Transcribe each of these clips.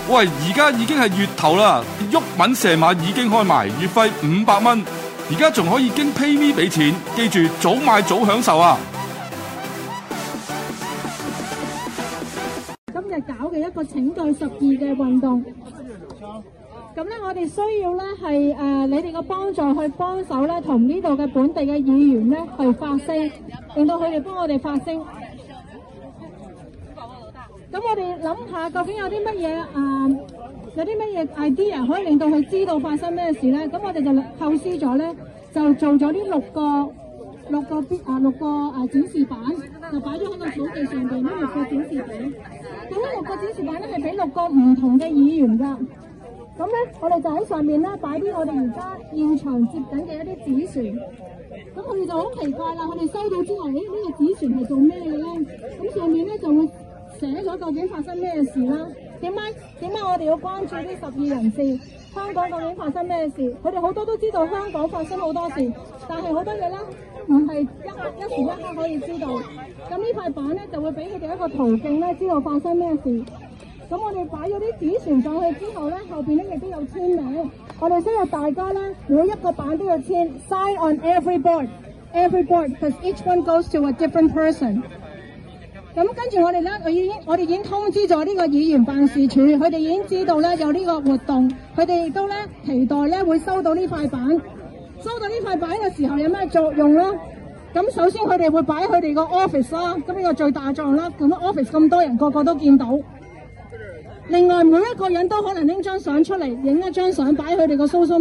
喂，而家已經係月頭啦，毓民射馬已經開埋，月費500蚊，而家仲可以經 PayMe 俾錢，記住早買早享受啊！ 今日搞嘅一個拯救12嘅運動，咁咧我哋需要咧係你哋嘅幫助去幫手咧，同呢度嘅本地嘅議員咧去發聲，令到佢哋幫我哋發聲。咁我哋諗下，究竟有啲乜嘢 idea 可以令到佢知道發生咩事咧？咁我哋就構思咗咧，就做咗呢六個展示板，就擺咗喺個草地上邊呢6個展示板。咁呢6個展示板咧係俾6個唔同嘅議員㗎。咁咧我哋就喺上面咧擺啲我哋而家現場接緊嘅一啲紙船。咁佢哋就好奇怪啦，佢哋收到之後，呢個紙船係做咩嘅咧？咁上面咧就會寫咗究竟發生咩事啦？點解我哋要關注呢12人士？香港究竟發生咩事？佢哋好多都知道香港發生好多事，但係好多嘢咧唔係一時一刻可以知道。咁呢塊板咧就會俾佢哋一個途徑咧，知道發生咩事。咁我哋擺咗啲紙船上去之後咧，後邊咧亦都有簽名。我哋需要大家咧每一個板都要簽 ，sign on every board，because each one goes to a different person。咁跟住我哋咧，我哋已經通知咗呢個議員辦事處，佢哋已經知道咧有呢個活動，佢哋亦都咧期待咧會收到呢塊板。收到呢塊板嘅時候有咩作用咧？咁首先佢哋會擺喺佢哋個 office 啦，咁呢個最大作用啦。咁 office 咁多人，個個都見到。另外每一個人都可能拎張相出嚟，影一張相擺喺佢哋個 social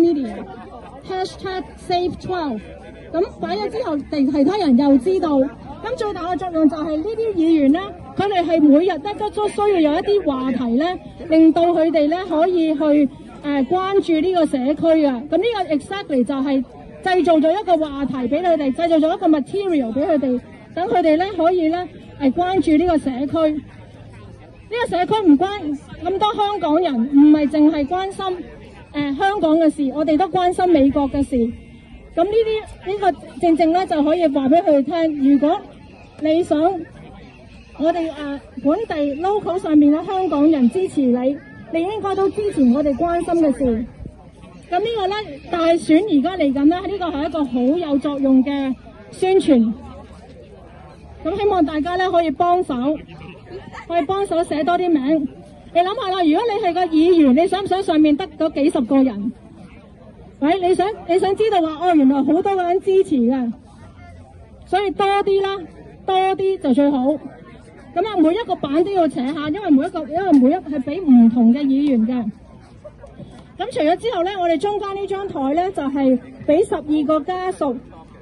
media，#save12。咁擺咗之後，其他人又知道。咁最大嘅作用就係呢啲議員咧，佢哋係每日都需要有一啲話題咧，令到佢哋咧可以去關注呢個社區啊。咁呢個 exactly 就係製造咗一個話題俾佢哋，製造咗一個 material 俾佢哋，等佢哋咧可以咧關注呢個社區。呢個社區唔關咁多香港人，唔係淨係關心香港嘅事，我哋都關心美國嘅事。咁呢個正正咧就可以話俾佢哋聽，如果你想我哋本地 local 上面嘅香港人支持你，你應該都支持我哋關心嘅事。咁呢個咧大選而家嚟緊咧，呢個係一個好有作用嘅宣傳。咁希望大家咧可以幫手寫多啲名。你諗下啦，如果你係個議員，你想唔想上面得嗰幾十個人？喂，你想知道話原來好多個人支持嘅，所以多啲就最好。咁每一個版都要寫下，因為每一係俾唔同嘅議員嘅。咁除咗之後咧，我哋中間呢張台咧就係俾12個家屬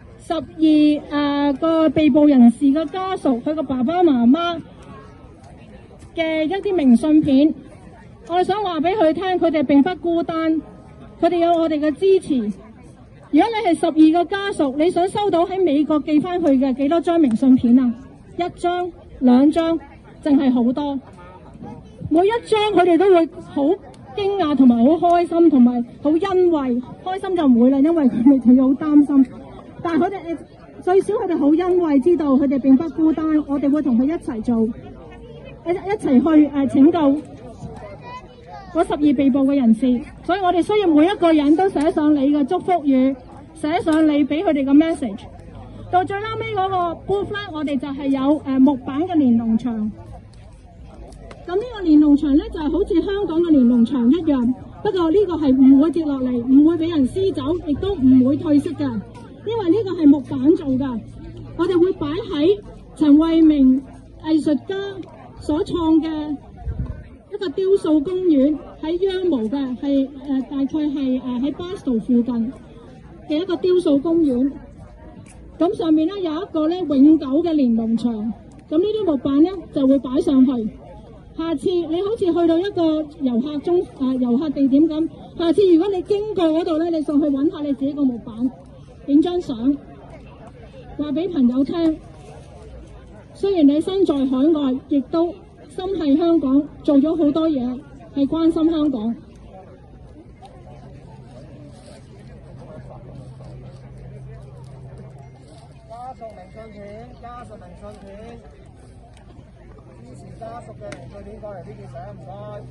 ，12個被捕人士嘅家屬，佢個爸爸媽媽嘅一啲明信片。我哋想話俾佢聽，佢哋並不孤單。佢哋有我哋嘅支持。如果你係12個家屬，你想收到喺美國寄翻去嘅幾多張明信片啊？1張、2張，淨係好多。每一張佢哋都會好驚訝同埋好開心同埋好欣慰。開心就唔會啦，因為佢哋好擔心。但係佢哋最少佢哋好欣慰，知道佢哋並不孤單。我哋會同佢一齊做，一齊去拯救嗰12被捕嘅人士。所以我哋需要每一個人都寫上你嘅祝福語，寫上你俾佢哋嘅 message。到最後尾嗰個 booth 咧，我哋就係有木板嘅連儂牆。咁呢個連儂牆咧就係好似香港嘅連儂牆一樣，不過呢個係唔會跌落嚟，唔會俾人撕走，亦都唔會褪色㗎，因為呢個係木板做㗎。我哋會擺喺陳慧明藝術家所創嘅一個雕塑公園，喺羊毛嘅，係大概係喺 Boston 附近嘅一個雕塑公園。咁上面咧有一個咧永久嘅連儂牆，咁呢啲木板咧就會擺上去。下次你好似去到一個遊客地點咁，下次如果你經過嗰度咧，你上去揾下你自己個木板，影張相，話俾朋友聽。雖然你身在海外，亦都心繫香港，做咗好多嘢，係關心香港。 加送明信片，支持家屬嘅零據點過嚟呢件相，唔該。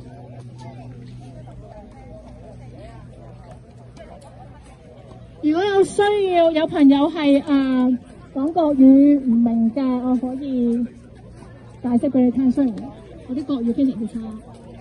如果有需要，有朋友係講國語唔明嘅，我可以解釋俾你聽。雖然我啲國語非常之差。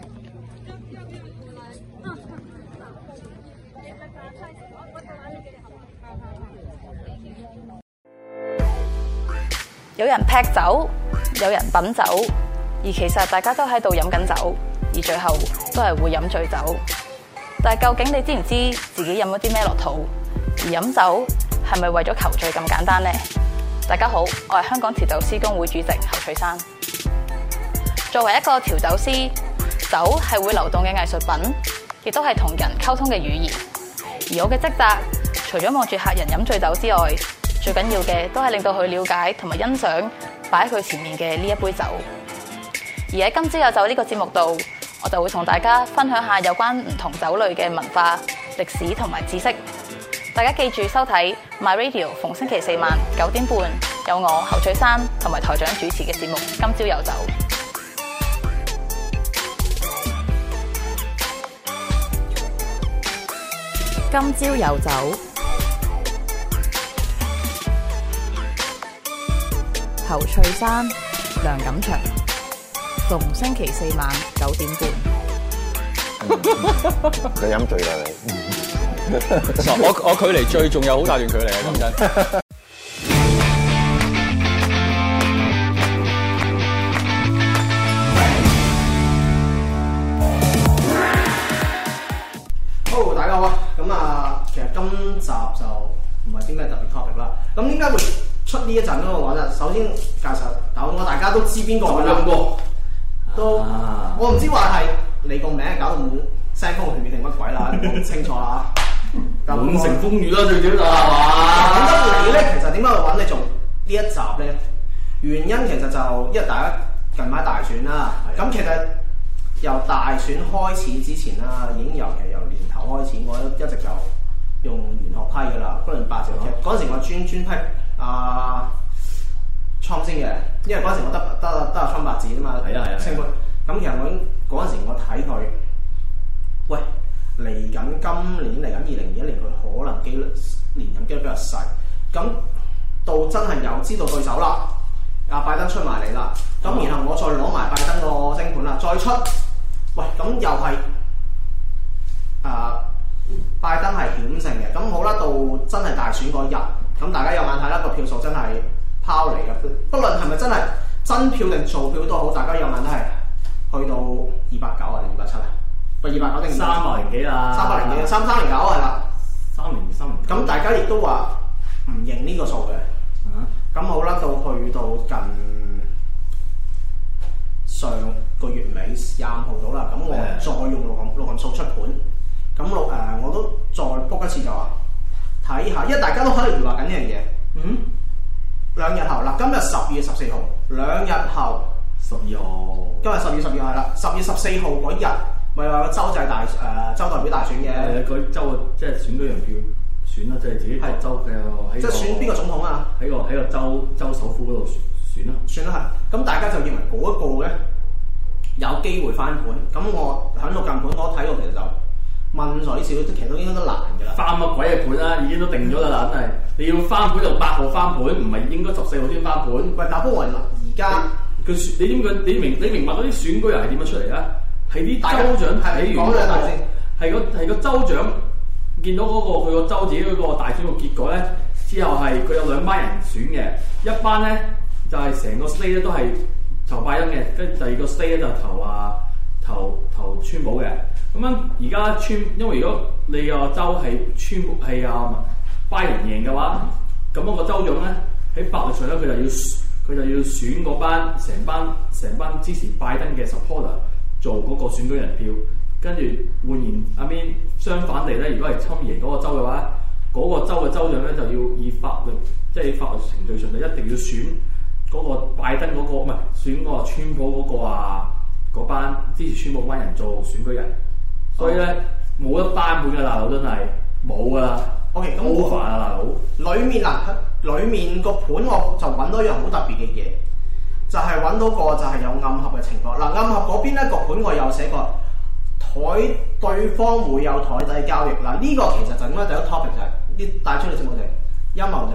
有人劈酒，有人品酒，而其實大家都喺度飲緊酒，而最後都係會飲醉酒。但係究竟你知唔知自己飲咗啲咩落肚？而飲酒係咪為咗求醉咁簡單呢？大家好，我係香港調酒師公會主席侯翠珊。作為一個調酒師，酒係會流動嘅藝術品，亦都係同人溝通嘅語言。而我嘅職責，除咗望住客人飲醉酒之外，最緊要嘅都係令到佢了解同埋欣賞擺喺佢前面嘅呢一杯酒。而喺今朝有酒呢個節目度，我就會同大家分享下有關唔同酒類嘅文化、歷史同埋知識。大家記住收睇 My Radio， 逢星期四晚9點半有我侯翠珊同埋台長主持嘅節目《今朝有酒》。今朝有酒。侯翠珊、梁錦祥，逢星期四晚9點半。 你飲醉啦你？ 我距離醉仲有好大段距離啊！講真。 好，大家好啊！咁其實今集就唔係啲咩特別 topic 啦。咁點解會出呢一陣嗰個話咧？首先介紹酒，我大家都知邊個㗎啦。都我唔知話係你個名搞到滿聲風血雨定乜鬼啦，唔清楚啦。 滿城風雨啦，最緊要係嘛？ 點解你咧？其實點解會揾你做呢一集咧？原因其實就因為大家近排大選啦。咁其實由大選開始之前啦，已經由年頭開始，我一直就用玄學批㗎啦。嗰輪八字劇嗰陣時，我專批倉先嘅，因為嗰陣時我得阿倉八字啫嘛。 係啊。 升官咁，其實我嗰陣時我睇佢，喂。嚟緊今年嚟緊2021年，佢可能連任機率比較細。咁到真係又知道對手啦，阿拜登出埋嚟啦。咁然後我再攞埋拜登個星盤啦，再出，喂咁又係拜登係險勝嘅。咁好啦，到真係大選嗰日，咁大家有眼睇啦，個票數真係拋嚟嘅。不論係咪真係真票定造票都好，大家有眼都係去到290啊定270啊。290定 300幾啦 ，300幾，309係啦 ，303。 咁大家亦都話唔認呢個數嘅。咁好啦，到去到近上個月尾25號到啦，咁我再用六合數出盤。咁我都再 book 一次就話睇下，因為大家都喺度疑惑緊呢樣嘢。2日後嗱，今日10月14號，2日後 12號， 今日10月12號係啦，10月14號嗰日。咪話個州際州代表大選嘅， 佢州即係選舉人票選啦，即係自己個州嘅喺。即係選邊個總統啊？喺個州首府嗰度選啦。 選啦係，咁大家就認為嗰一個咧有機會翻盤。咁我喺度近盤，我睇到其實就問水少，其實都應該都難㗎啦。 翻乜鬼嘅盤啦？已經都定咗啦，真係你要翻盤就8號翻盤，唔係應該14號先翻盤。 喂，但不過而家佢選你明白嗰啲選舉人係點樣出嚟啊？係啲州長睇完係個州長見到佢個州自己嗰個大選個結果咧，之後係佢有2班人選嘅，一班咧就係成個 state 咧都係投拜登嘅，跟住第二個 state 咧就投川普嘅。咁樣而家因為如果你個州係拜登贏嘅話，咁嗰個州長咧喺法律上咧佢就要選嗰班成班支持拜登嘅 supporter。做嗰個選舉人票，跟住換言相反地咧，如果係侵贏嗰個州嘅話，嗰個州嘅州長咧就要以法律程序上就一定要選嗰個拜登嗰個，唔係選嗰個川普嗰個嗰班支持川普嗰班人做選舉人，所以咧冇得翻盤嘅大佬真係冇噶啦。 OK， 咁好煩啊大佬。 裡面個盤我就揾到一樣好特別嘅嘢。 就係揾到個就係有暗合嘅情況。嗱，暗合嗰邊咧個盤我有寫過，對方會有台底交易。嗱，呢個其實就應該第一個 topic 就係呢帶出嚟節目就係陰謀就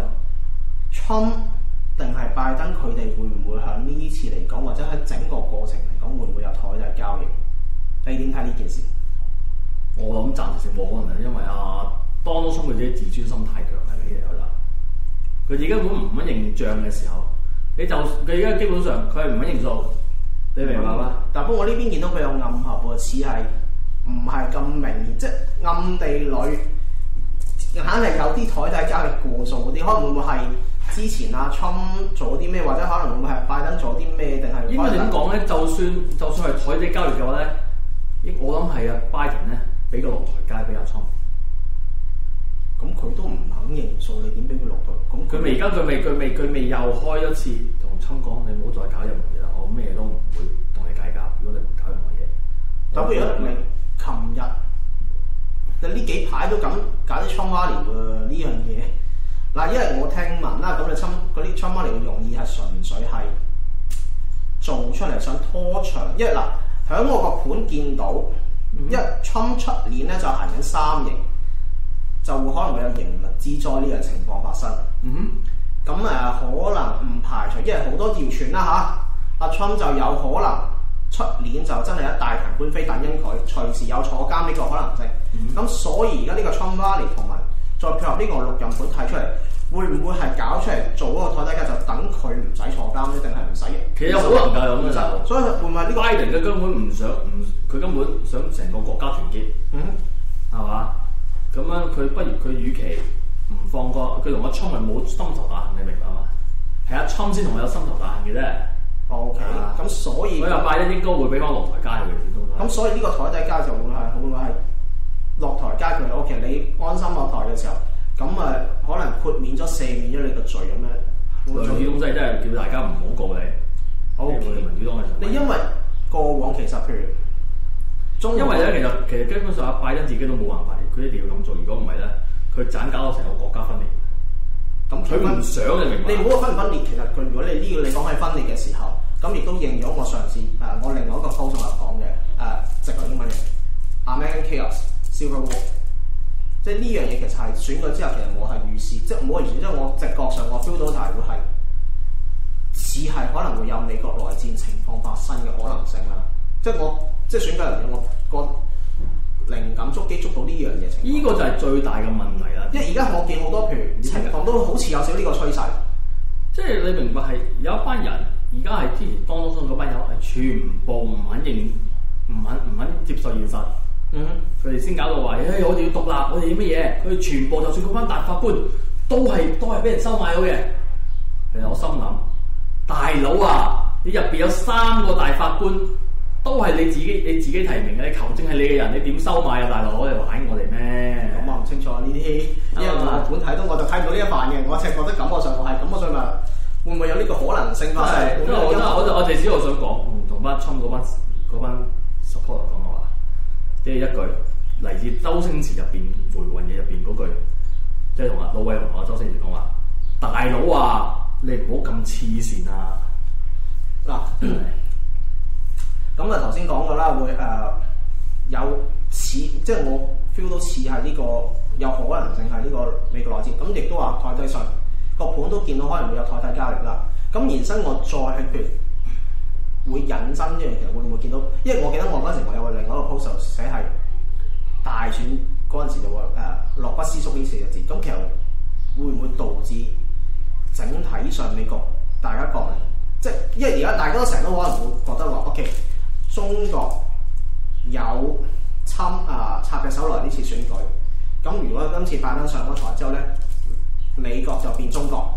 Trump 定係拜登佢哋會唔會喺呢次嚟講，或者喺整個過程嚟講會唔會有台底交易？你點睇呢件事？ 我諗暫時性冇可能，因為Donald Trump 佢自己自尊心太強係呢樣啦。佢自己根本唔肯認賬嘅時候，佢而家基本上佢係唔肯認數，你明白嗎？ 但不過我呢邊見到佢有暗合喎，似係唔係咁明顯，即係暗地裏硬係有啲台底交易過數嗰啲，可能會唔會係之前Trump 做啲咩，或者可能會唔會係拜登做啲咩，定係應該點講咧？就算係台底交易嘅話咧，我諗係拜登咧俾個落台階俾Trump。咁佢都唔肯認數，你點俾佢落台？咁佢未又開一次同Trump講，你唔好再搞任何嘢啦，我咩都唔會同你計較。如果你唔搞任何嘢，咁不如你琴日呢幾排都咁搞啲Trump Rally喎呢樣嘢。嗱，因為我聽聞啦，咁你嗰啲Trump Rally嘅用意係純粹係做出嚟想拖長，因為嗱喺我個盤見到，因為Trump出年咧就行緊3型。就會可能會有刑律之災呢樣情況發生。咁可能唔排除，因為好多謠傳啦阿Trump 就有可能出年就真係一大壇官非等緊佢，隨時有坐監呢個可能性。咁所以而家呢個Trump Rally同埋再配合呢個6任盤提出嚟，會唔會係搞出嚟做嗰個台底價，就等佢唔使坐監咧，定係唔使？其實有可能㗎咁嘅，所以會唔會呢個拜登嘅根本唔想佢根本想成個國家團結，係嘛？咁樣佢與其唔放過佢同Trump係冇心頭大恨，你明白嗎？係Trump先同我有心頭大恨嘅啫。OK，咁所以拜登應該會俾翻落台階佢始終。咁所以呢個台底階就會唔會係落台階佢？OK，你安心落台嘅時候，咁可能豁免咗赦免咗你個罪咁樣。類似東西真係叫大家唔好告你。OK，民主黨你因為過往其實譬如。因為咧，其實基本上拜登自己都冇辦法，佢一定要咁做。如果唔係咧，佢盞搞到成個國家分裂。咁佢唔想你明白？你唔好話分唔分裂，其實佢如果你呢個你講係分裂嘅時候，咁亦都應咗我上次我另外一個 post 我講嘅直來英文嘅 American Chaos Civil War， 即係呢樣嘢其實係選舉之後，其實我係預示，即係冇預示，即係我直覺上我 feel 到就係會係似係可能會有美國內戰情況發生嘅可能性啦。即係選舉人我個靈感捉到呢樣嘢情況，呢個就係最大嘅問題啦。因為而家我見好多譬如情況都好似有少呢個趨勢，即係你明白係有一班人而家係之前當中嗰班友係全部唔肯接受現實，佢哋先搞到話，我哋要獨立，我哋要乜嘢？佢哋全部就算嗰班大法官都係俾人收買咗嘅。其實我心諗，大佬啊，你入邊有3個大法官。都係你自己提名嘅，你求證係你嘅人，你點收買啊，大佬？你玩我哋咩？咁我唔清楚呢啲，因為我本睇到我就睇唔到呢一範嘅，我淨係覺得感覺上我係咁，我想問會唔會有呢個可能性發生？我哋只係想講，同班Trump嗰班 supporter 講嘅話，即係一句嚟自周星馳入邊《回魂夜》入邊嗰句，即係同老偉同周星馳講話：大佬啊，你唔好咁黐線啊！嗱。咁頭先講過啦，會有似，即係我 feel 到似係呢個有可能性係呢個美國內戰，咁亦都話台底上個盤都見到可能會有台底交易啦。咁延伸我再係譬如會引申一樣，其實會唔會見到？因為我記得我嗰陣時我有另外一個 post 寫係大選嗰陣時就話樂不思蜀呢4個字，咁其實會唔會導致整體上美國大家國民，即係因為而家大家都成日都可能會覺得話 OK。中國有插隻手來呢次選舉，咁如果今次拜登上咗台之後咧，美國就變中國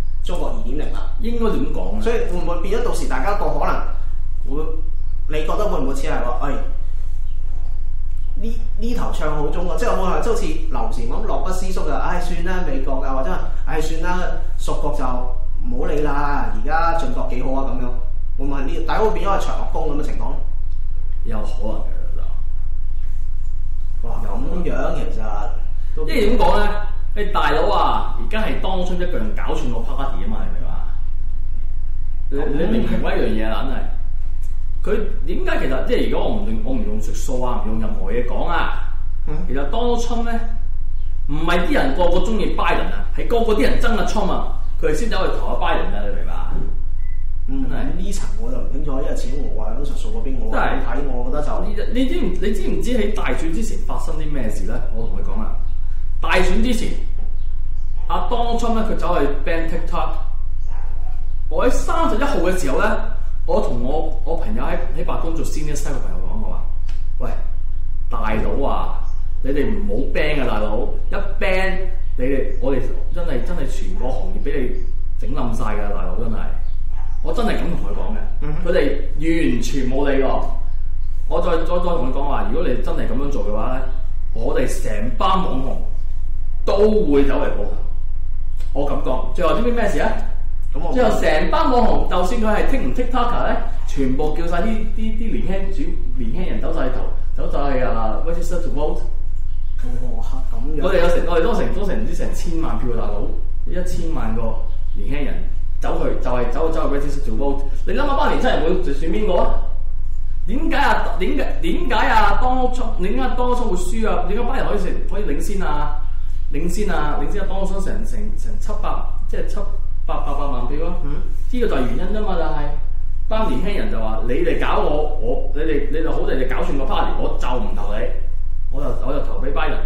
2.0啦。應該點講？所以會唔會變咗到時大家個可能會？你覺得會唔會似係話，呢頭唱好中國，即係好似劉禪咁樂不思蜀就，算啦美國啊，或者算啦屬國就唔好理啦，而家進國幾好啊咁樣。會唔會係呢？大家會變咗係長樂宮咁嘅情況？有可能嘅就，哇咁樣其實，即係點講咧？你大佬啊，而家係當初一個人搞串個 party 啊嘛，係咪話？ 你明唔明呢樣嘢啊？硬係佢點解其實即係如果我唔用術數啊，唔用任何嘢講啊，其實 Donald Trump 咧唔係啲人個個中意拜登啊，係個個啲人憎阿 Trump 啊，佢哋先走去投阿拜登啊，你明白？ 呢層我就唔清楚，因為始終我話喺術數嗰邊，我睇我覺得就你知唔知喺大選之前發生啲咩事咧？我同佢講啦，大選之前，阿 Donald Trump 咧佢走去 ban TikTok。我喺31號嘅時候咧，我同我朋友喺白宮做 senior staff 嘅朋友講，我話：喂，大佬啊，你哋唔好 ban 啊，大佬！一 ban 我哋真係全個行業俾你整冧晒㗎，大佬真係。我真係咁同佢講嘅，佢哋完全冇理過。我再同佢講話，如果你真係咁樣做嘅話咧，我哋成班網紅都會走嚟報仇。我咁講，最後知唔知咩事啊？最後成班網紅，就算佢係TikToker 咧，全部叫晒啲年輕人走晒去register to vote。 哇！咁樣我哋都成唔知成1000萬票嘅大佬，1000萬個年輕人走去 register to vote。你諗下班年輕人會選邊個啊？點解啊 Donald Trump 會輸啊？點解班人可以領先啊 Donald Trump 成700即係700-800萬票啊！呢個就係原因啫嘛，就係班年輕人就話：你哋搞你哋好地搞串個 party， 我就唔投你，我就投俾拜登。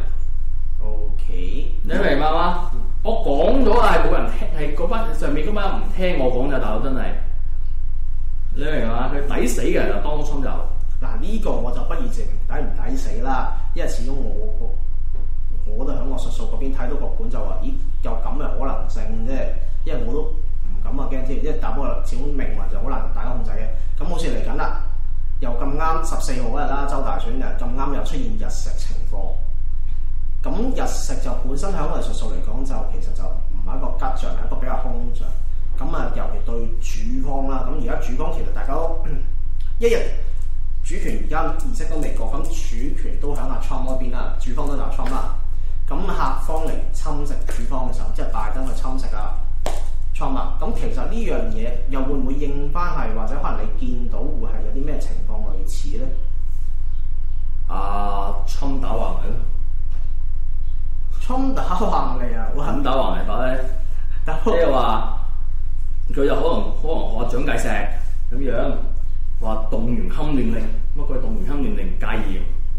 OK， 你明白嗎？我講咗係冇人聽，係嗰班上面嗰班唔聽我講咋，大佬真係。你明嘛？佢抵死嘅就Donald Trump就嗱呢個我就不予置評，抵唔抵死啦？因為始終我都喺我術數嗰邊睇到個盤就話：咦，有咁嘅可能性啫。因為我都唔敢話驚添，因為打波始終命運就好難大家控制嘅。咁好似嚟緊啦，又咁啱14號嗰日啦，州大選又咁啱又出現日食情況。咁日食就本身喺我哋術數嚟講就其實就唔係一個吉象，係一個比較凶象。咁啊，尤其對主方啦，咁而家主方其實大家都一日主權而家儀式都未過，咁主權都喺阿 Trump 嗰邊啦，主方都有 Trump 啦。咁客方嚟侵蝕主方嘅時候，即係拜登去侵蝕啊 Trump 啦。咁其實呢樣嘢又會唔會應翻係，或者可能你見到會係有啲咩情況類似咧 ？Trump 打橫嚟咯 ，Trump 打橫嚟啊！ 咁打橫嚟法咧，即係話佢就可能話蔣介石咁樣話動員戡亂令，乜佢動員戡亂令戒嚴。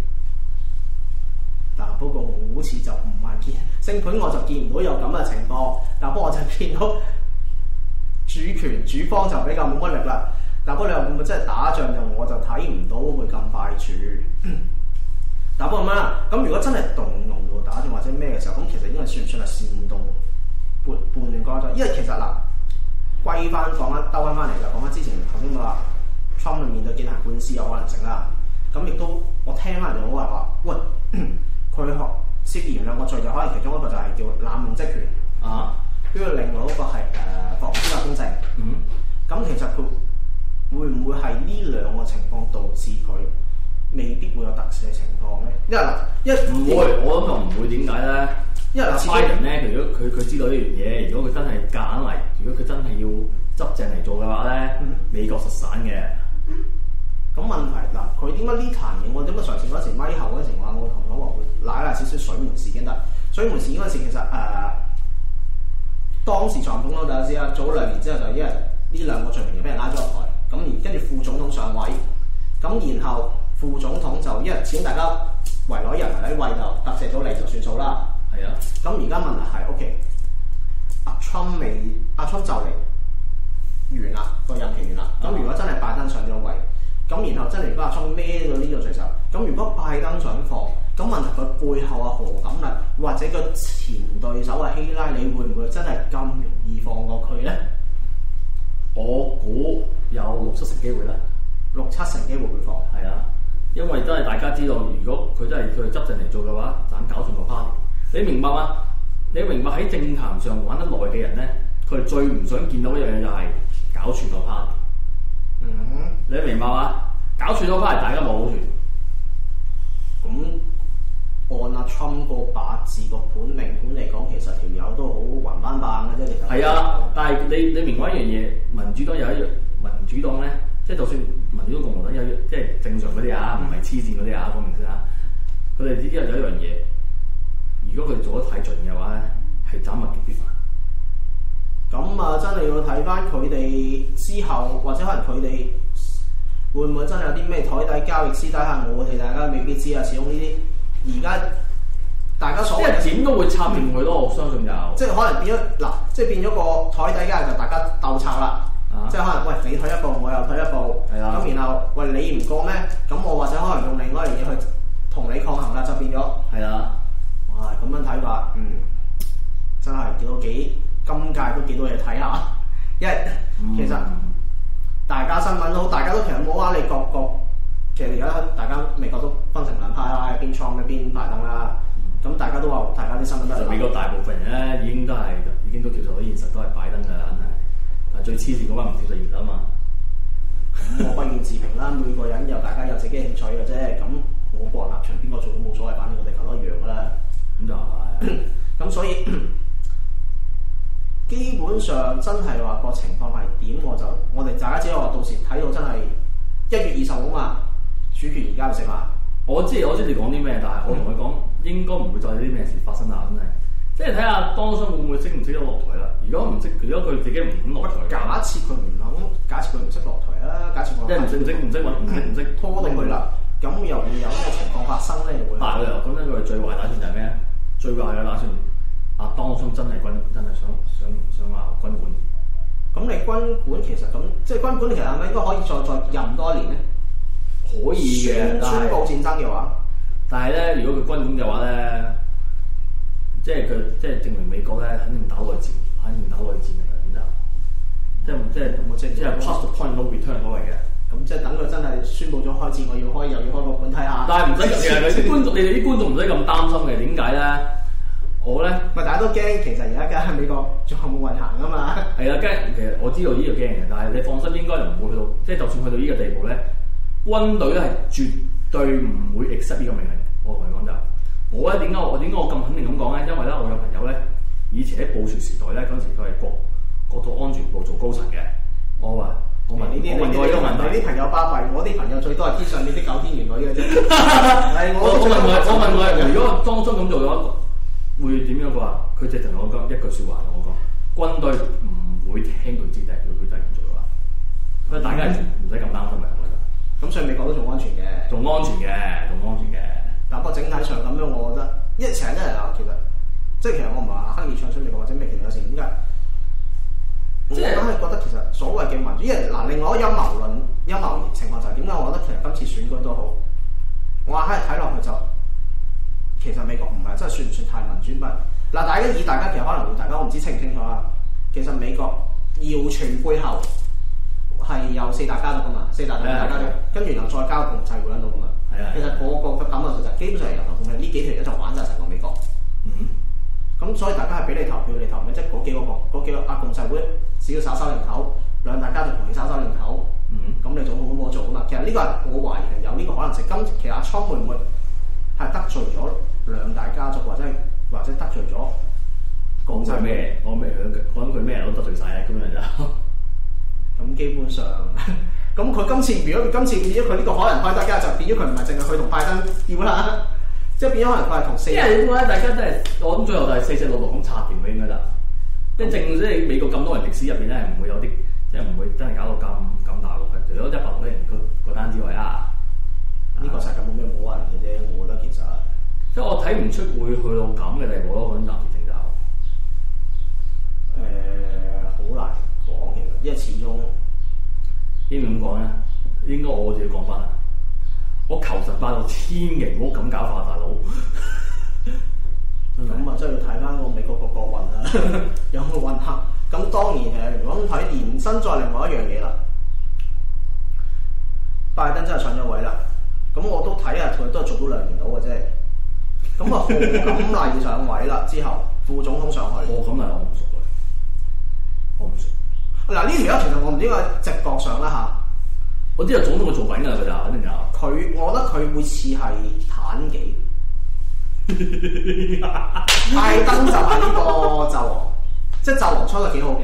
嗱，不過我好似就唔係見星盤，我就見唔到有咁嘅情況。嗱，不過我就見到主權主方就比較冇乜力啦。嗱，不過你話會唔會真係打仗就我就睇唔到會咁快住。嗱，不過咁樣啦，咁如果真係動用到打仗或者咩嘅時候，咁其實應該算唔算係煽動叛亂嗰種？因為其實嗱，歸翻講翻兜翻嚟就講翻之前頭先話 Trump 面對檢察官司有可能性啦。咁亦都我聽翻人就好話，喂。佢涉嫌兩個罪，就可能其中一個就係叫濫用職權啊，跟住另外一個係妨礙司法公正。咁其實佢會唔會係呢兩個情況導致佢未必會有特赦情況咧？因為唔會， 我諗就唔會。點解咧？ 因為拜登咧，如果佢知道呢樣嘢，如果佢真係夾硬嚟，如果佢真係要執正嚟做嘅話咧，美國實散嘅。 咁問題嗱，佢點解呢壇嘢？我點解上次嗰時咪後嗰時話我同佢話會賴少少水門事件？但水門事件嗰時其實當時總統大家知啦，早2年之後就因為呢兩個罪名就俾人拉咗落台，咁而跟住副總統上位，咁然後副總統就因為始終大家圍內人喺位就特赦咗你就算數啦。 係啊， 咁而家問題係 OK， 阿 Trump 就嚟完啦，個任期完啦。咁如果真係拜登上咗位，咁然後真係如果阿 Trump 孭咗呢個罪責，咁如果拜登想放，咁問題佢背後何錦麗或者個前對手希拉里會唔會真係咁容易放過佢咧？ 我估有6-7成機會啦 ，6-7成機會會放。 係啊，因為真係大家知道，如果佢真係佢執政嚟做嘅話，盞搞掂個 party。你明白嗎？你明白喺政壇上玩得耐嘅人咧，佢哋最唔想見到一樣嘢就係搞串個 party。你明白嗎？搞串咗翻嚟，大家冇好處。 咁按阿 Trump 個八字個盤命盤嚟講，其實條友都好橫斑斑嘅啫。其實係啊， 但係你明白一樣嘢，民主黨有一樣，民主黨咧，即係就算民主黨共和黨有即係正常嗰啲啊，唔係黐線嗰啲啊，講明先啊。佢哋之間有一樣嘢，如果佢做得太盡嘅話咧，係斬物極必反。 咁啊，真係要睇翻佢哋之後，或者可能佢哋會唔會真係有啲咩台底交易私底下，我哋大家未必知啊。始終呢啲而家大家所謂即係點都會插掂佢咯，我相信就即係可能變咗嗱，即係變咗個台底交易就大家鬥拆啦。即係可能喂你退一步，我又退一步，咁然後喂你唔過咩？咁我或者可能用另外一樣嘢去同你抗衡啦，就變咗係啊！ 哇咁樣睇法，真係見到今屆都幾多嘢睇下，因為其實大家新聞都大家都其實冇話你各其實而家大家美國都分成兩派啦，一邊 Trump 一邊拜登啦，咁大家都話大家啲新聞都係美國大部分人咧已經都接受到現實，都係拜登㗎啦，肯定。但係最黐線嗰班唔接受現實啊嘛。 咁我不願自評啦，每個人大家有自己興趣嘅啫。咁我個人立場邊個做都冇所謂，反正個地球都一樣㗎啦。咁就係。咁所以。基本上真係話個情況係點，我哋大家只係話到時睇到真係1月20號嘛，主權而家就食嘛。 我知你講啲咩，但係我同佢講應該唔會再有啲咩事發生啦，真係。即係睇下當初會唔會識唔識得落台啦。如果佢自己唔肯落台， 假設佢唔識落台啦，假設我即係唔識拖到佢啦，咁又會有咩情況發生咧？會但係佢又講緊佢最壞打算就係咩？最壞嘅打算。當中真係想話軍管， 咁你軍管其實咁即係軍管，其實係咪應該可以再任多一年咧？ 可以嘅， 宣告戰爭嘅話， 但係咧，如果佢軍管嘅話咧，即係證明美國咧肯定打內戰嘅啦，咁就即係 past the point no return 嗰位嘅。 咁即係等佢真係宣佈咗開戰，又要開個管睇下。 但係唔使嘅，你哋啲觀眾唔使咁擔心嘅，點解咧？我咧， 咪大家都驚，其實而家喺美國仲有冇運行啊嘛？ 係啊，驚。其實我知道呢個驚嘅，但係你放心，應該就唔會去到，即係就算去到呢個地步咧，軍隊咧係絕對唔會 accept 呢個命令。我同你講就，我咧點解我咁肯定咁講咧？因為咧，我有朋友咧，以前喺布殊時代咧，嗰陣時佢係國土安全部做高層嘅。我問過呢個問題， 你啲朋友巴閉，我啲朋友最多係天上面啲九天玄女嘅啫。 我問佢，如果當初咁做嘅話，會點樣？佢話佢直情同我講一句説話，同我講軍隊唔會聽佢指令，如果佢真係咁做嘅話，所以大家唔使咁擔心嘅，我覺得。咁所以美國都仲安全嘅，仲安全嘅。但不過整體上咁樣，我覺得一成日鬧，其實即係其實我唔係話刻意唱衰美國或者咩，其實有時點解？我硬係覺得其實所謂嘅民主，因為嗱，另外一個陰謀情況就係點解？我覺得其實今次選舉都好，我硬係睇落去就。其實美國唔係真係算唔算太民主乜？嗱，大家其實可能會大家我唔知清唔清楚啦。其實美國謠傳背後係有4大家族噶嘛，4大家族，跟住然後再加個共濟會喺度噶嘛。其實個感覺就基本上係由頭到尾呢幾條一就玩晒成個美國。咁所以大家係俾你投票，你投咩？即係嗰幾個共濟會，只要稍稍零頭，2大家族同你稍稍零頭，咁你做好我做噶嘛。其實呢個係我懷疑係有呢個可能性。其實阿倉會唔會係得罪咗2大家族，或者得罪咗共濟咩？ 講佢咩人都得罪晒啊！咁樣就咁基本上，咁佢今次變咗佢呢個可能開得家，就變咗佢唔係淨係佢同拜登要啦，即係變咗可能佢係同4。 因為點解大家真係我諗最後就係466咁插掂佢應該啦。即係美國咁多人歷史入邊咧，係唔會有啲即係唔會真係搞到咁大鑊嘅。除咗100多人嗰單之外啊， 呢個世界冇咩冇人嘅啫。我覺得其實即係我睇唔出會去到咁嘅地步咯。嗰陣暫時性就好難講，其實因為始終應該咁講咧，應該我自己講翻啦。我求神拜到千祈唔好咁搞法，大佬。 咁啊，真係要睇翻個美國個國運啦，有冇運行？咁當然如果咁睇延伸再另外一樣嘢啦，拜登真係上咗位啦。咁我都睇下佢都係做到2年到嘅啫。咁啊，賀錦麗上位啦，之後副總統上去。 賀錦麗我唔熟。 嗱，呢條友其實我唔知個直覺上啦嚇。 我知道總統會做緊㗎啦，佢就肯定有。 我覺得佢會似係坦幾。拜登就係呢個紂王，即係紂王出得幾好嘅。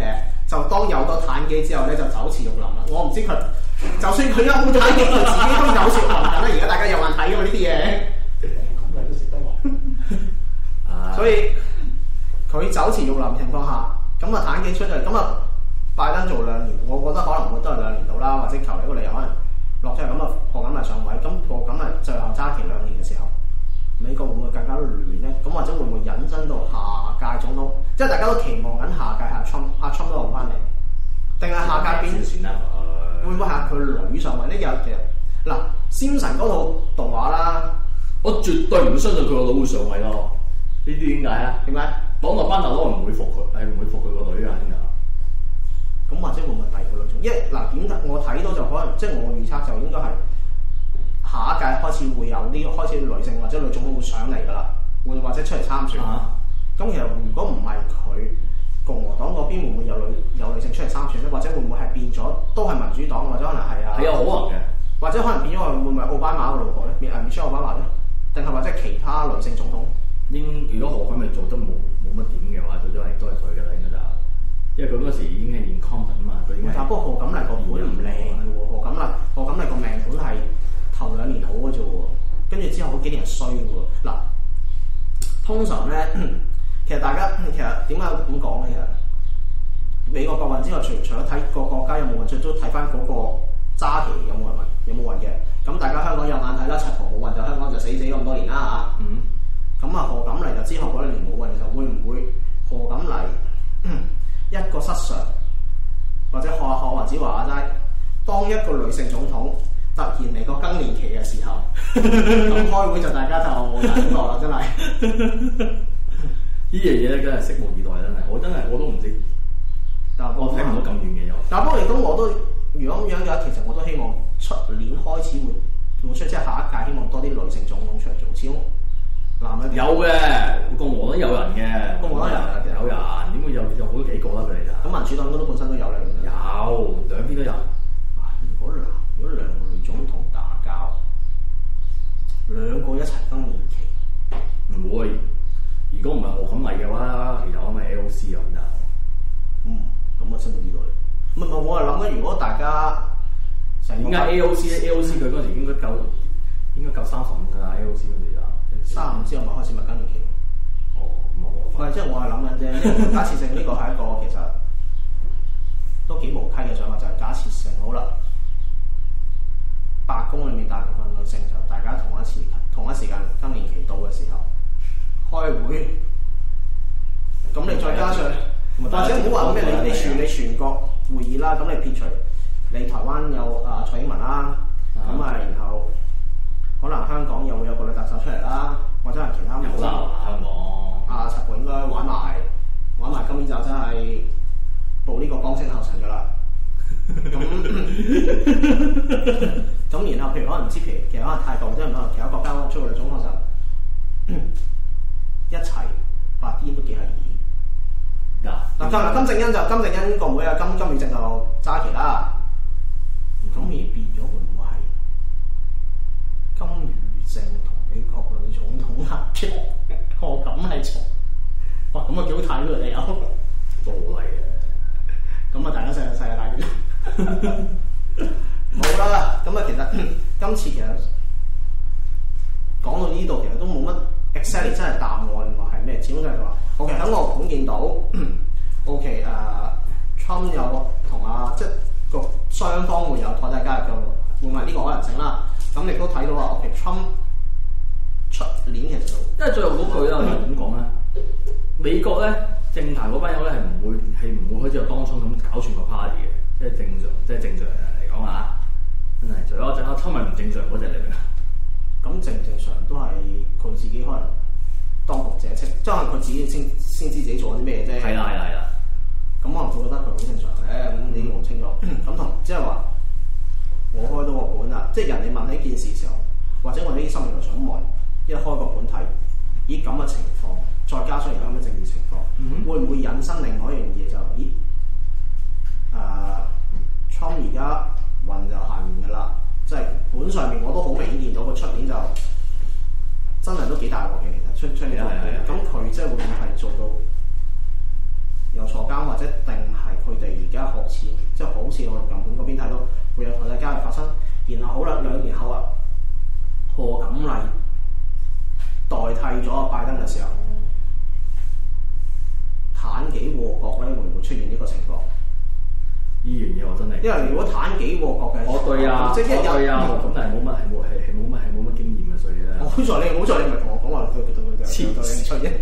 就當有咗炭機之後咧，就酒池肉林啦。我唔知佢，就算佢有冇炭機，佢自己都酒池肉林緊啦。而家大家有眼睇㗎嘛呢啲嘢，咁咪都食得喎。所以佢酒池肉林情況下，咁啊炭機出嚟，咁啊拜登做2年，我覺得可能會都係2年到啦，或者求其一個理由可能落出嚟，咁啊賀錦麗上位，咁賀錦麗最後揸期2年嘅時候。美國會唔會更加亂咧？咁或者會唔會引申到下屆總統？即係大家都期望緊下屆阿Trump都落翻嚟，定係下屆邊？會唔會係佢女上位咧？有其實嗱，Simpson嗰套動畫啦， 我絕對唔相信佢個女會上位咯。呢啲點解啊？點解？黨內班頭都唔會服佢，係唔會服佢個女㗎？點解？ 咁或者會唔會第二個女總？因為嗱點我睇到就可能，即係我預測就應該係。下一屆開始會有啲開始女性或者女總統會上嚟㗎啦，會或者出嚟參選。咁其實如果唔係佢共和黨嗰邊會唔會有女性出嚟參選咧？或者會唔會係變咗都係民主黨，或者可能係啊？係有可能嘅，或者可能變咗會唔會係奧巴馬個老婆咧？Michelle Obama咧？定係或者其他女性總統？如果何錦麗做得冇乜點嘅話，最多係都係佢㗎啦，應該就因為佢嗰時已經係incumbent啊嘛，佢已經。但不過何錦麗個盤唔靚嘅喎，何錦麗個命盤係。頭2年好嘅啫喎，跟住之後嗰幾年衰嘅喎。嗱，通常咧，其實大家其實點解咁講咧？其實美國國運之後，除咗睇個國家有冇運，最都睇翻嗰個揸旗有冇運嘅。咁大家香港有眼睇啦，柒頭冇運就香港就死咁多年啦嚇。咁何錦麗就之後嗰1年冇運嘅時候，會唔會何錦麗一個失常，或者學黃子華齋，當一個女性總統？突然嚟個更年期嘅時候，咁開會就大家就冇大感覺啦，真係。 呢樣嘢咧，真係拭目以待，真係我都唔知。但我睇唔到咁遠嘅又。但不過嚟講，我都如果咁樣嘅話，其實我都希望出年開始會出，即係下一屆希望多啲女性總統出嚟做。始終男人有嘅，共和黨有人嘅，共和黨有人，點會有好多幾個啦佢哋就。咁民主黨都本身都有啦，有兩邊都有。如果2個女總統打交，2個一齊更年期，唔會。如果唔係何錦麗嘅話，其實我咪 AOC 咁就。咁我真係呢個。唔係我係諗緊，如果大家點解 AOC 咧 ？AOC 佢嗰時應該夠35㗎啦 ，AOC 嗰時就35之後咪開始咪更年期。咁唔係，即係我係諗緊啫。假設性呢個係一個其實都幾無稽嘅想法，就係假設性好啦。白宮裏面大部分女性就大家同一時間更年期到嘅時候開會，咁你再加上或者唔好話咩，你處理全國會議啦，咁你撇除你台灣有蔡英文啦，咁然後可能香港又會有個女特首出嚟啦，或者係其他有啦香港陳盤應該玩埋今年就真係步呢個江青後塵㗎啦。咁然後譬如可能唔知其實可能泰國即係可能其他國家出嚟總統就一齊發癲都幾係易。金正恩個妹啊金與正就揸旗啦。咁而變咗會唔會係金與正同美國女總統合擊？何錦麗從哇咁啊幾好睇喎你有都好嚟嘅。咁啊大家世界大戰。冇啦，咁啊其實今次其實講到呢度，其實都冇乜 exactly 真係答案話係咩？始終就係話 ，OK 喺我盤見到 ，OK Trump 有同即係個雙方會有台底交易嘅，會唔係呢個可能性啦？咁亦都睇到話 ，OK Trump 出年其實因為最後嗰句啦，點講咧？美國咧政壇嗰班友咧係唔會好似當初咁搞串個 party 嘅。即係正常嚟講啊，真係除咗阿Trump咪唔正常嗰隻嚟嘅。咁正常都係佢自己可能當局者清，即係可能佢自己先知自己做緊啲咩啫。係啦。咁可能佢覺得佢好正常嘅，咁你都唔清楚。咁同即係話，我開到個盤啦，即係人哋問起件事嘅時候，或者我哋啲新聞台想問，一開個盤睇，咦咁嘅情況，再加上而家咁嘅政治情況，會唔會引申另外一樣嘢就咦？Trump 而家運就下面嘅啦，即係盤上面我都好明顯見到佢出年就真係都幾大鑊嘅，其實出年咁佢即係會唔會係做到有坐監，或者定係佢哋而家學似即係好似我日本嗰邊睇到會有台底交易發生。然後好啦，2年後啊，賀錦麗代替咗拜登嘅時候，妲己禍國咧會唔會出現呢個情況？ 呢樣嘢我真係， 因為如果妲己禍國嘅， 我對啊， 即係一有咁但係冇乜經驗嘅，所以咧。 好在你唔係同我講話對有興趣啫。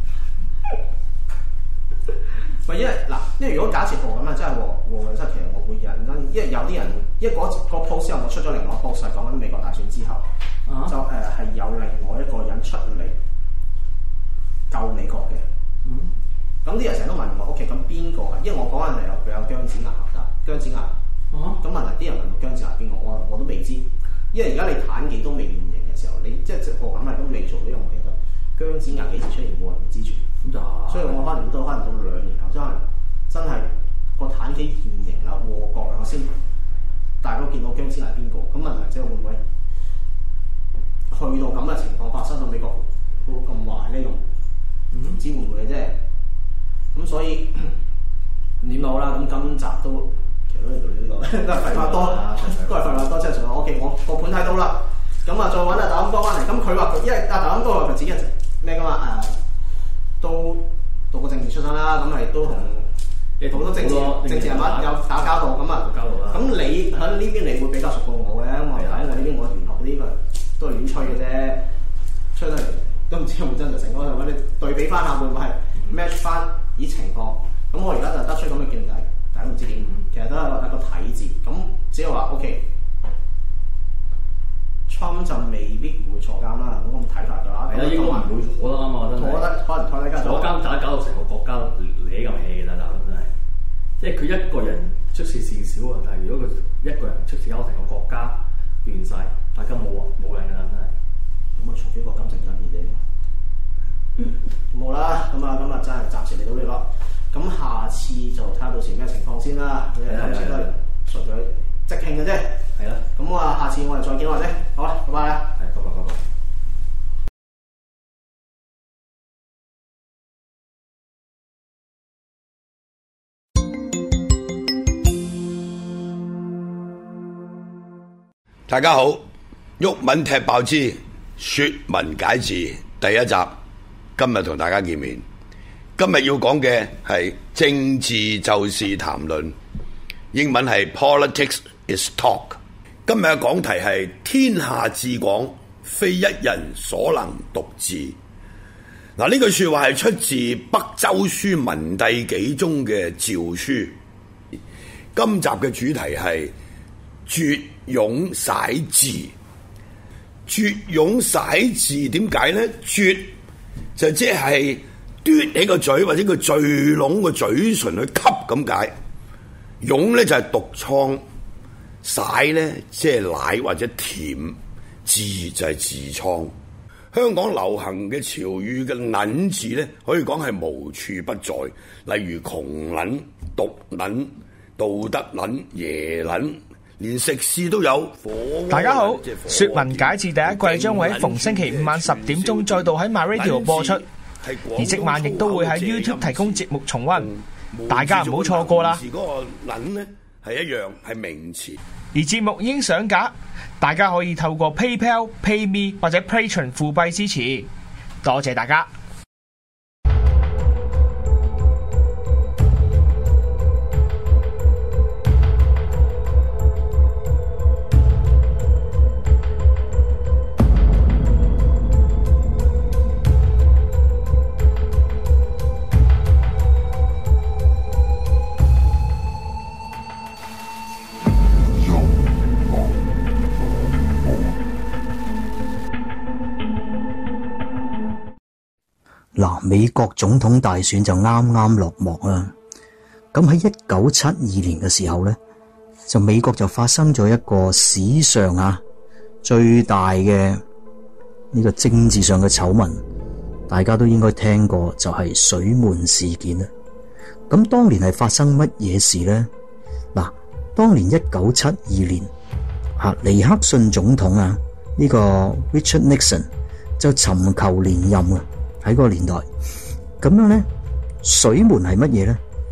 唔係因為如果假設禍咁啊，真係禍嘅，即係其實我會認真，因為有啲人，因為嗰個 post 之後我出咗另外一個 post 係講緊美國大選之後，就係有另外一個人出嚟救美國嘅。咁啲人成日都問我 ，OK， 咁邊個啊？因為我講緊係有姜子牙㗎，姜子牙。咁問題啲人問我姜子牙邊個，我都未知，因為而家你妲己都未現形嘅時候，你即係賀錦麗都未做呢樣嘢㗎，姜子牙幾時出現冇人知住。咁就所以我可能到2年後，真係個妲己現形啦，禍國啦，我先大家見到姜子牙邊個？咁問題即係會唔會去到咁嘅情況發生到美國會咁壞呢？唔知會唔會嘅啫。咁所以點好啦？咁今集都其實都係做呢個，都係廢話多，都係廢話多。即係上 OK， 我個盤睇到啦。咁啊，再揾阿大鵪哥翻嚟。咁佢話因為阿大鵪哥話佢自己係咩噶嘛？都讀過政治出身啦，咁係都同好多政治人物有打交道咁啊。咁你喺呢邊你會比較熟過我嘅，因為喺我呢邊我玄學嗰啲都係亂吹嘅啫，吹得嚟都唔知有冇真實性。我哋對比翻下會唔會係 match 翻啲情況？咁我而家就得出咁嘅見解，大家都唔知點。其實都係一個睇字，咁只係話 OK。Trump 就未必會坐監啦，咁睇法㗎啦。 係啦，應該唔會坐得啱嘛，真係。我覺得可能坐監搞到成個國家攣咁氣㗎啦，真係。即係佢一個人出事事少啊，但係如果佢一個人出事搞到成個國家亂晒，大家冇人㗎啦，真係。 咁啊，除非個金正恩嘅啫。冇啦，咁啊，真係暫時嚟到呢個。咁下次就睇下到時咩情況先啦。今次都係純粹即興嘅啫。係啦。咁下次我哋再見或者好啦，拜拜啦。 係，拜拜。 大家好，毓民踢爆之說文解字第一集，今日同大家見面。今日要講嘅係政治就是談論，英文係 Politics is Talk。今日嘅講題係天下至廣，非一人所能獨治。嗱，呢句說話係出自北周書文帝紀中嘅詔書。今集嘅主題係絕涌使字。絕涌使字點解呢？絕就即係嘟起個嘴或者個聚攏個嘴唇去吸咁解。涌呢就係毒瘡，使呢即係奶或者甜，痔就係痔瘡。香港流行嘅潮語嘅撚字呢，可以講係無處不在，例如窮撚、毒撚、道德撚、耶撚。連食肆都有。 大家好，說文解字第一季將會喺逢星期五晚10點鐘再度喺 MyRadio 播出，而即晚亦都會喺 YouTube 提供節目重溫，大家唔好錯過啦。 嗰個撚呢係一樣係名詞， 而節目已經上架，大家可以透過 PayPal、PayMe 或者 Patreon 付幣支持，多謝大家。 嗱，美國總統大選就啱啱落幕啦。咁喺1972年嘅時候咧，就美國就發生咗一個史上最大嘅呢個政治上嘅醜聞，大家都應該聽過，就係水門事件啦。咁當年係發生乜嘢事咧？嗱，當年1972年，尼克遜總統呢個 Richard Nixon 就尋求連任啊。喺嗰個年代，咁樣咧，水門係乜嘢咧？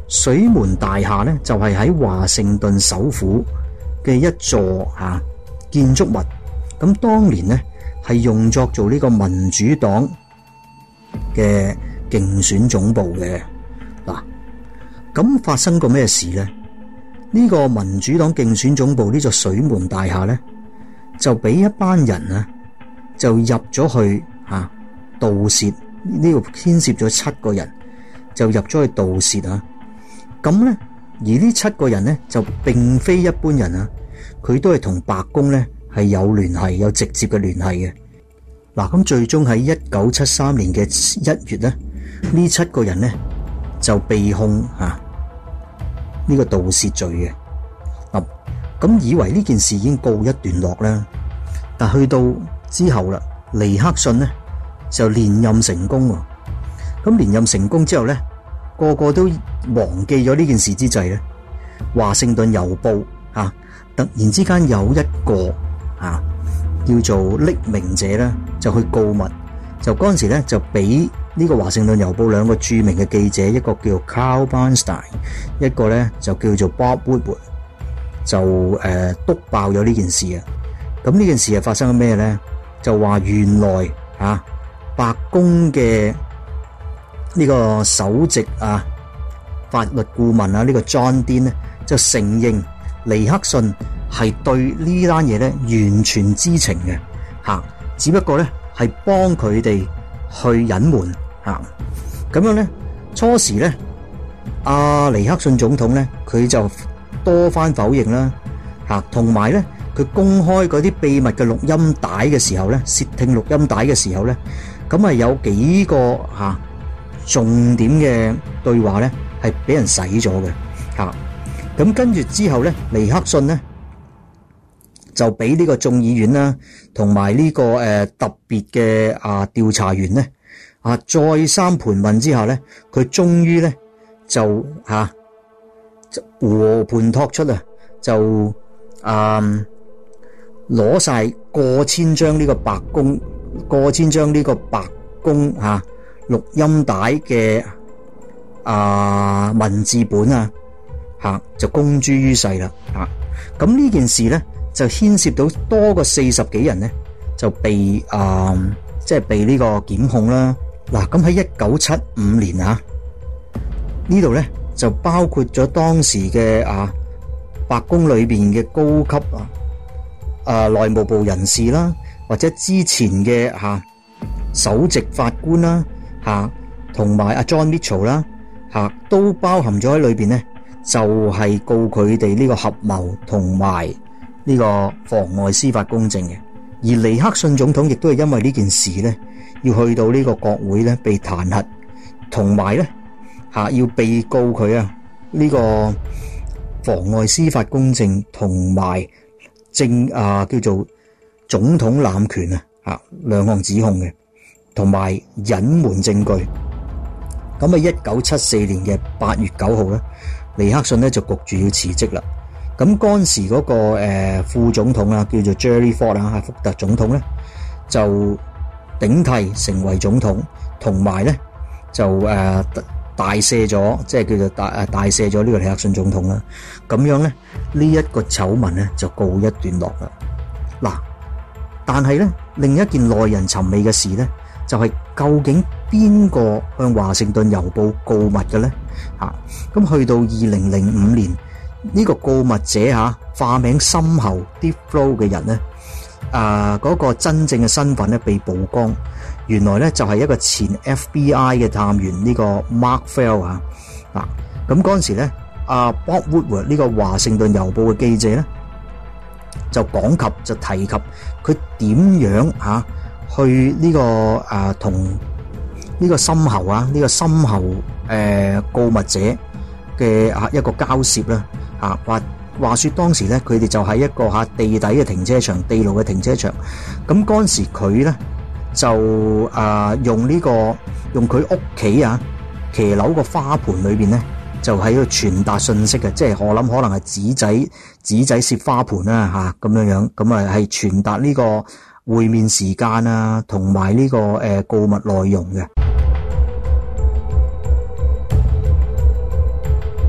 水門大廈咧就係喺華盛頓首府嘅一座建築物，咁當年咧係用作做呢個民主黨嘅競選總部嘅。嗱，咁發生過咩事咧？呢個民主黨競選總部呢座水門大廈咧，就俾一班人啊，就入咗去盜竊，呢個牽涉咗7個人，就入咗去盜竊啊。咁咧，而呢7個人咧就並非一般人啊，佢都係同白宮咧係有聯繫，有直接嘅聯繫嘅。嗱，咁最終喺1973年嘅1月咧，呢7個人咧就被控呢個盜竊罪嘅。咁以為呢件事已經告一段落啦，但去到之後啦，尼克遜咧就連任成功喎。咁連任成功之後咧，個個都忘記咗呢件事之際咧，華盛頓郵報突然之間有一個叫做匿名者咧，就去告密，就嗰陣時咧就俾呢個華盛頓郵報2個著名嘅記者，一個叫 Carl Bernstein， 一個咧就叫做 Bob Woodward， 就篤爆咗呢件事啊！咁呢件事係發生咗咩咧？就話原來白宮嘅呢個首席法律顧問呢個 John Dean 咧就承認尼克遜係對呢單嘢咧完全知情嘅只不過咧係幫佢哋去隱瞞咁樣咧。初時咧尼克遜總統咧佢就多番否認啦同埋咧佢公開嗰啲秘密嘅錄音帶嘅時候咧，竊聽錄音帶嘅時候咧，咁係有幾個重點嘅對話咧係俾人洗咗嘅咁跟住之後咧，尼克遜咧就俾呢個眾議院啦，同埋呢個特別嘅調查員咧再三盤問之下咧，佢終於咧就和盤托出就攞晒過千張呢個白宮錄音帶嘅文字本就公諸於世啦咁呢件事咧就牽涉到多過40幾人咧就被即係被呢個檢控啦。嗱，咁喺1975年呢度咧就包括咗當時嘅白宮裏邊嘅高級內務部人士啦，或者之前嘅首席法官啦同埋John Mitchell 啦都包含咗喺裏邊咧，就係告佢哋呢個合謀同埋呢個妨礙司法公正嘅。而尼克遜總統亦都係因為呢件事咧，要去到呢個國會咧被彈劾，同埋咧要被告佢呢個妨礙司法公正同埋叫做總統濫權2項指控嘅，同埋隱瞞證據。咁喺1974年嘅8月9號咧，尼克遜咧就焗住要辭職啦。咁嗰陣時嗰個副總統叫做 Gerald Ford 福特總統咧就頂替成為總統，同埋咧就大赦咗，即係叫做大赦咗呢個尼克遜總統啦。咁樣咧呢一個醜聞咧就告一段落啦。嗱，但係咧另一件耐人尋味嘅事咧，就係究竟邊個向華盛頓郵報告密嘅咧？咁去到2005年，呢個告密者化名深喉 Deep Throat 嘅人咧，嗰個真正嘅身份咧被曝光，原來咧就係一個前 FBI 嘅探員呢個 Mark Fell 咁嗰陣時咧Bob Woodward 呢個華盛頓郵報嘅記者咧就提及佢點樣去呢個同呢個深喉告密者嘅一個交涉啦話說當時咧佢哋就喺一個地底嘅停車場，地牢嘅停車場。咁嗰陣時佢咧就用佢屋企騎樓個花盆裏邊咧就喺度傳達信息嘅，即係我諗可能係紙仔攝花盆啦咁樣，咁係傳達呢個會面時間同埋呢個告密內容嘅。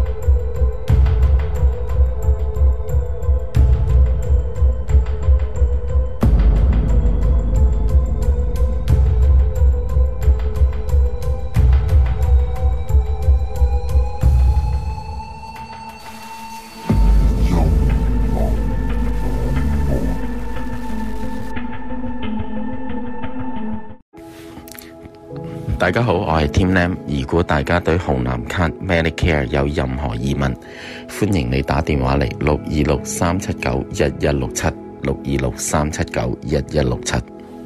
大家好，我係 Tim Lam。如果大家對紅藍卡 Medicare 有任何疑問，歡迎你打電話嚟626-379-1167 626-379-1167。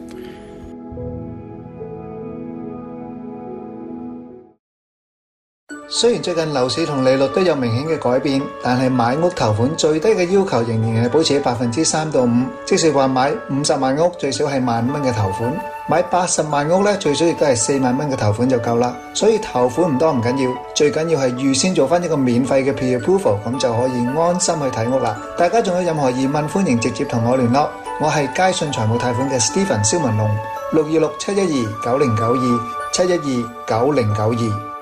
雖然最近樓市同利率都有明顯嘅改變，但係買屋頭款最低嘅要求仍然係保持喺3%到5%，即是話買50萬屋最少係15000蚊嘅頭款，買80萬屋咧最少亦都係4萬蚊嘅頭款就夠啦。所以頭款唔多唔緊要，最緊要係預先做翻一個免費嘅 pre-approval， 咁就可以安心去睇屋啦。大家仲有任何疑問，歡迎直接同我聯絡。我係佳信財務貸款嘅 Stephen 蕭文龍，626-712-9092 712-9092。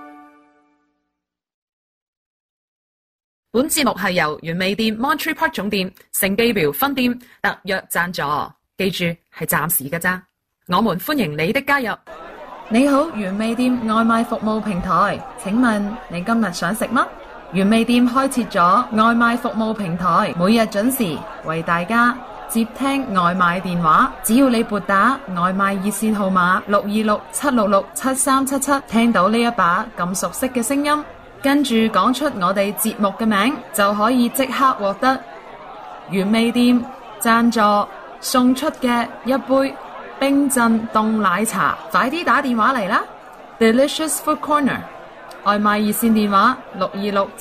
本節目係由原味店 Monterey Park 總店、盛記廟分店特約贊助，記住係暫時嘅咋。我們歡迎你的加入。你好，原味店外賣服務平台，請問你今日想食乜？原味店開設咗外賣服務平台，每日準時為大家接聽外賣電話。只要你撥打外賣熱線號碼626-766-7377，聽到呢一把咁熟悉嘅聲音，跟住講出我哋節目嘅名，就可以即刻獲得原味店贊助送出嘅一杯冰鎮凍奶茶。快啲打電話嚟啦 ！Delicious Food Corner 外賣熱線電話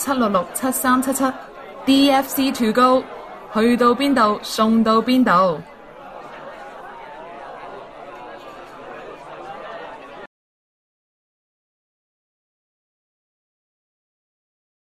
626-766-7377 DFC to go， 去到邊度送到邊度。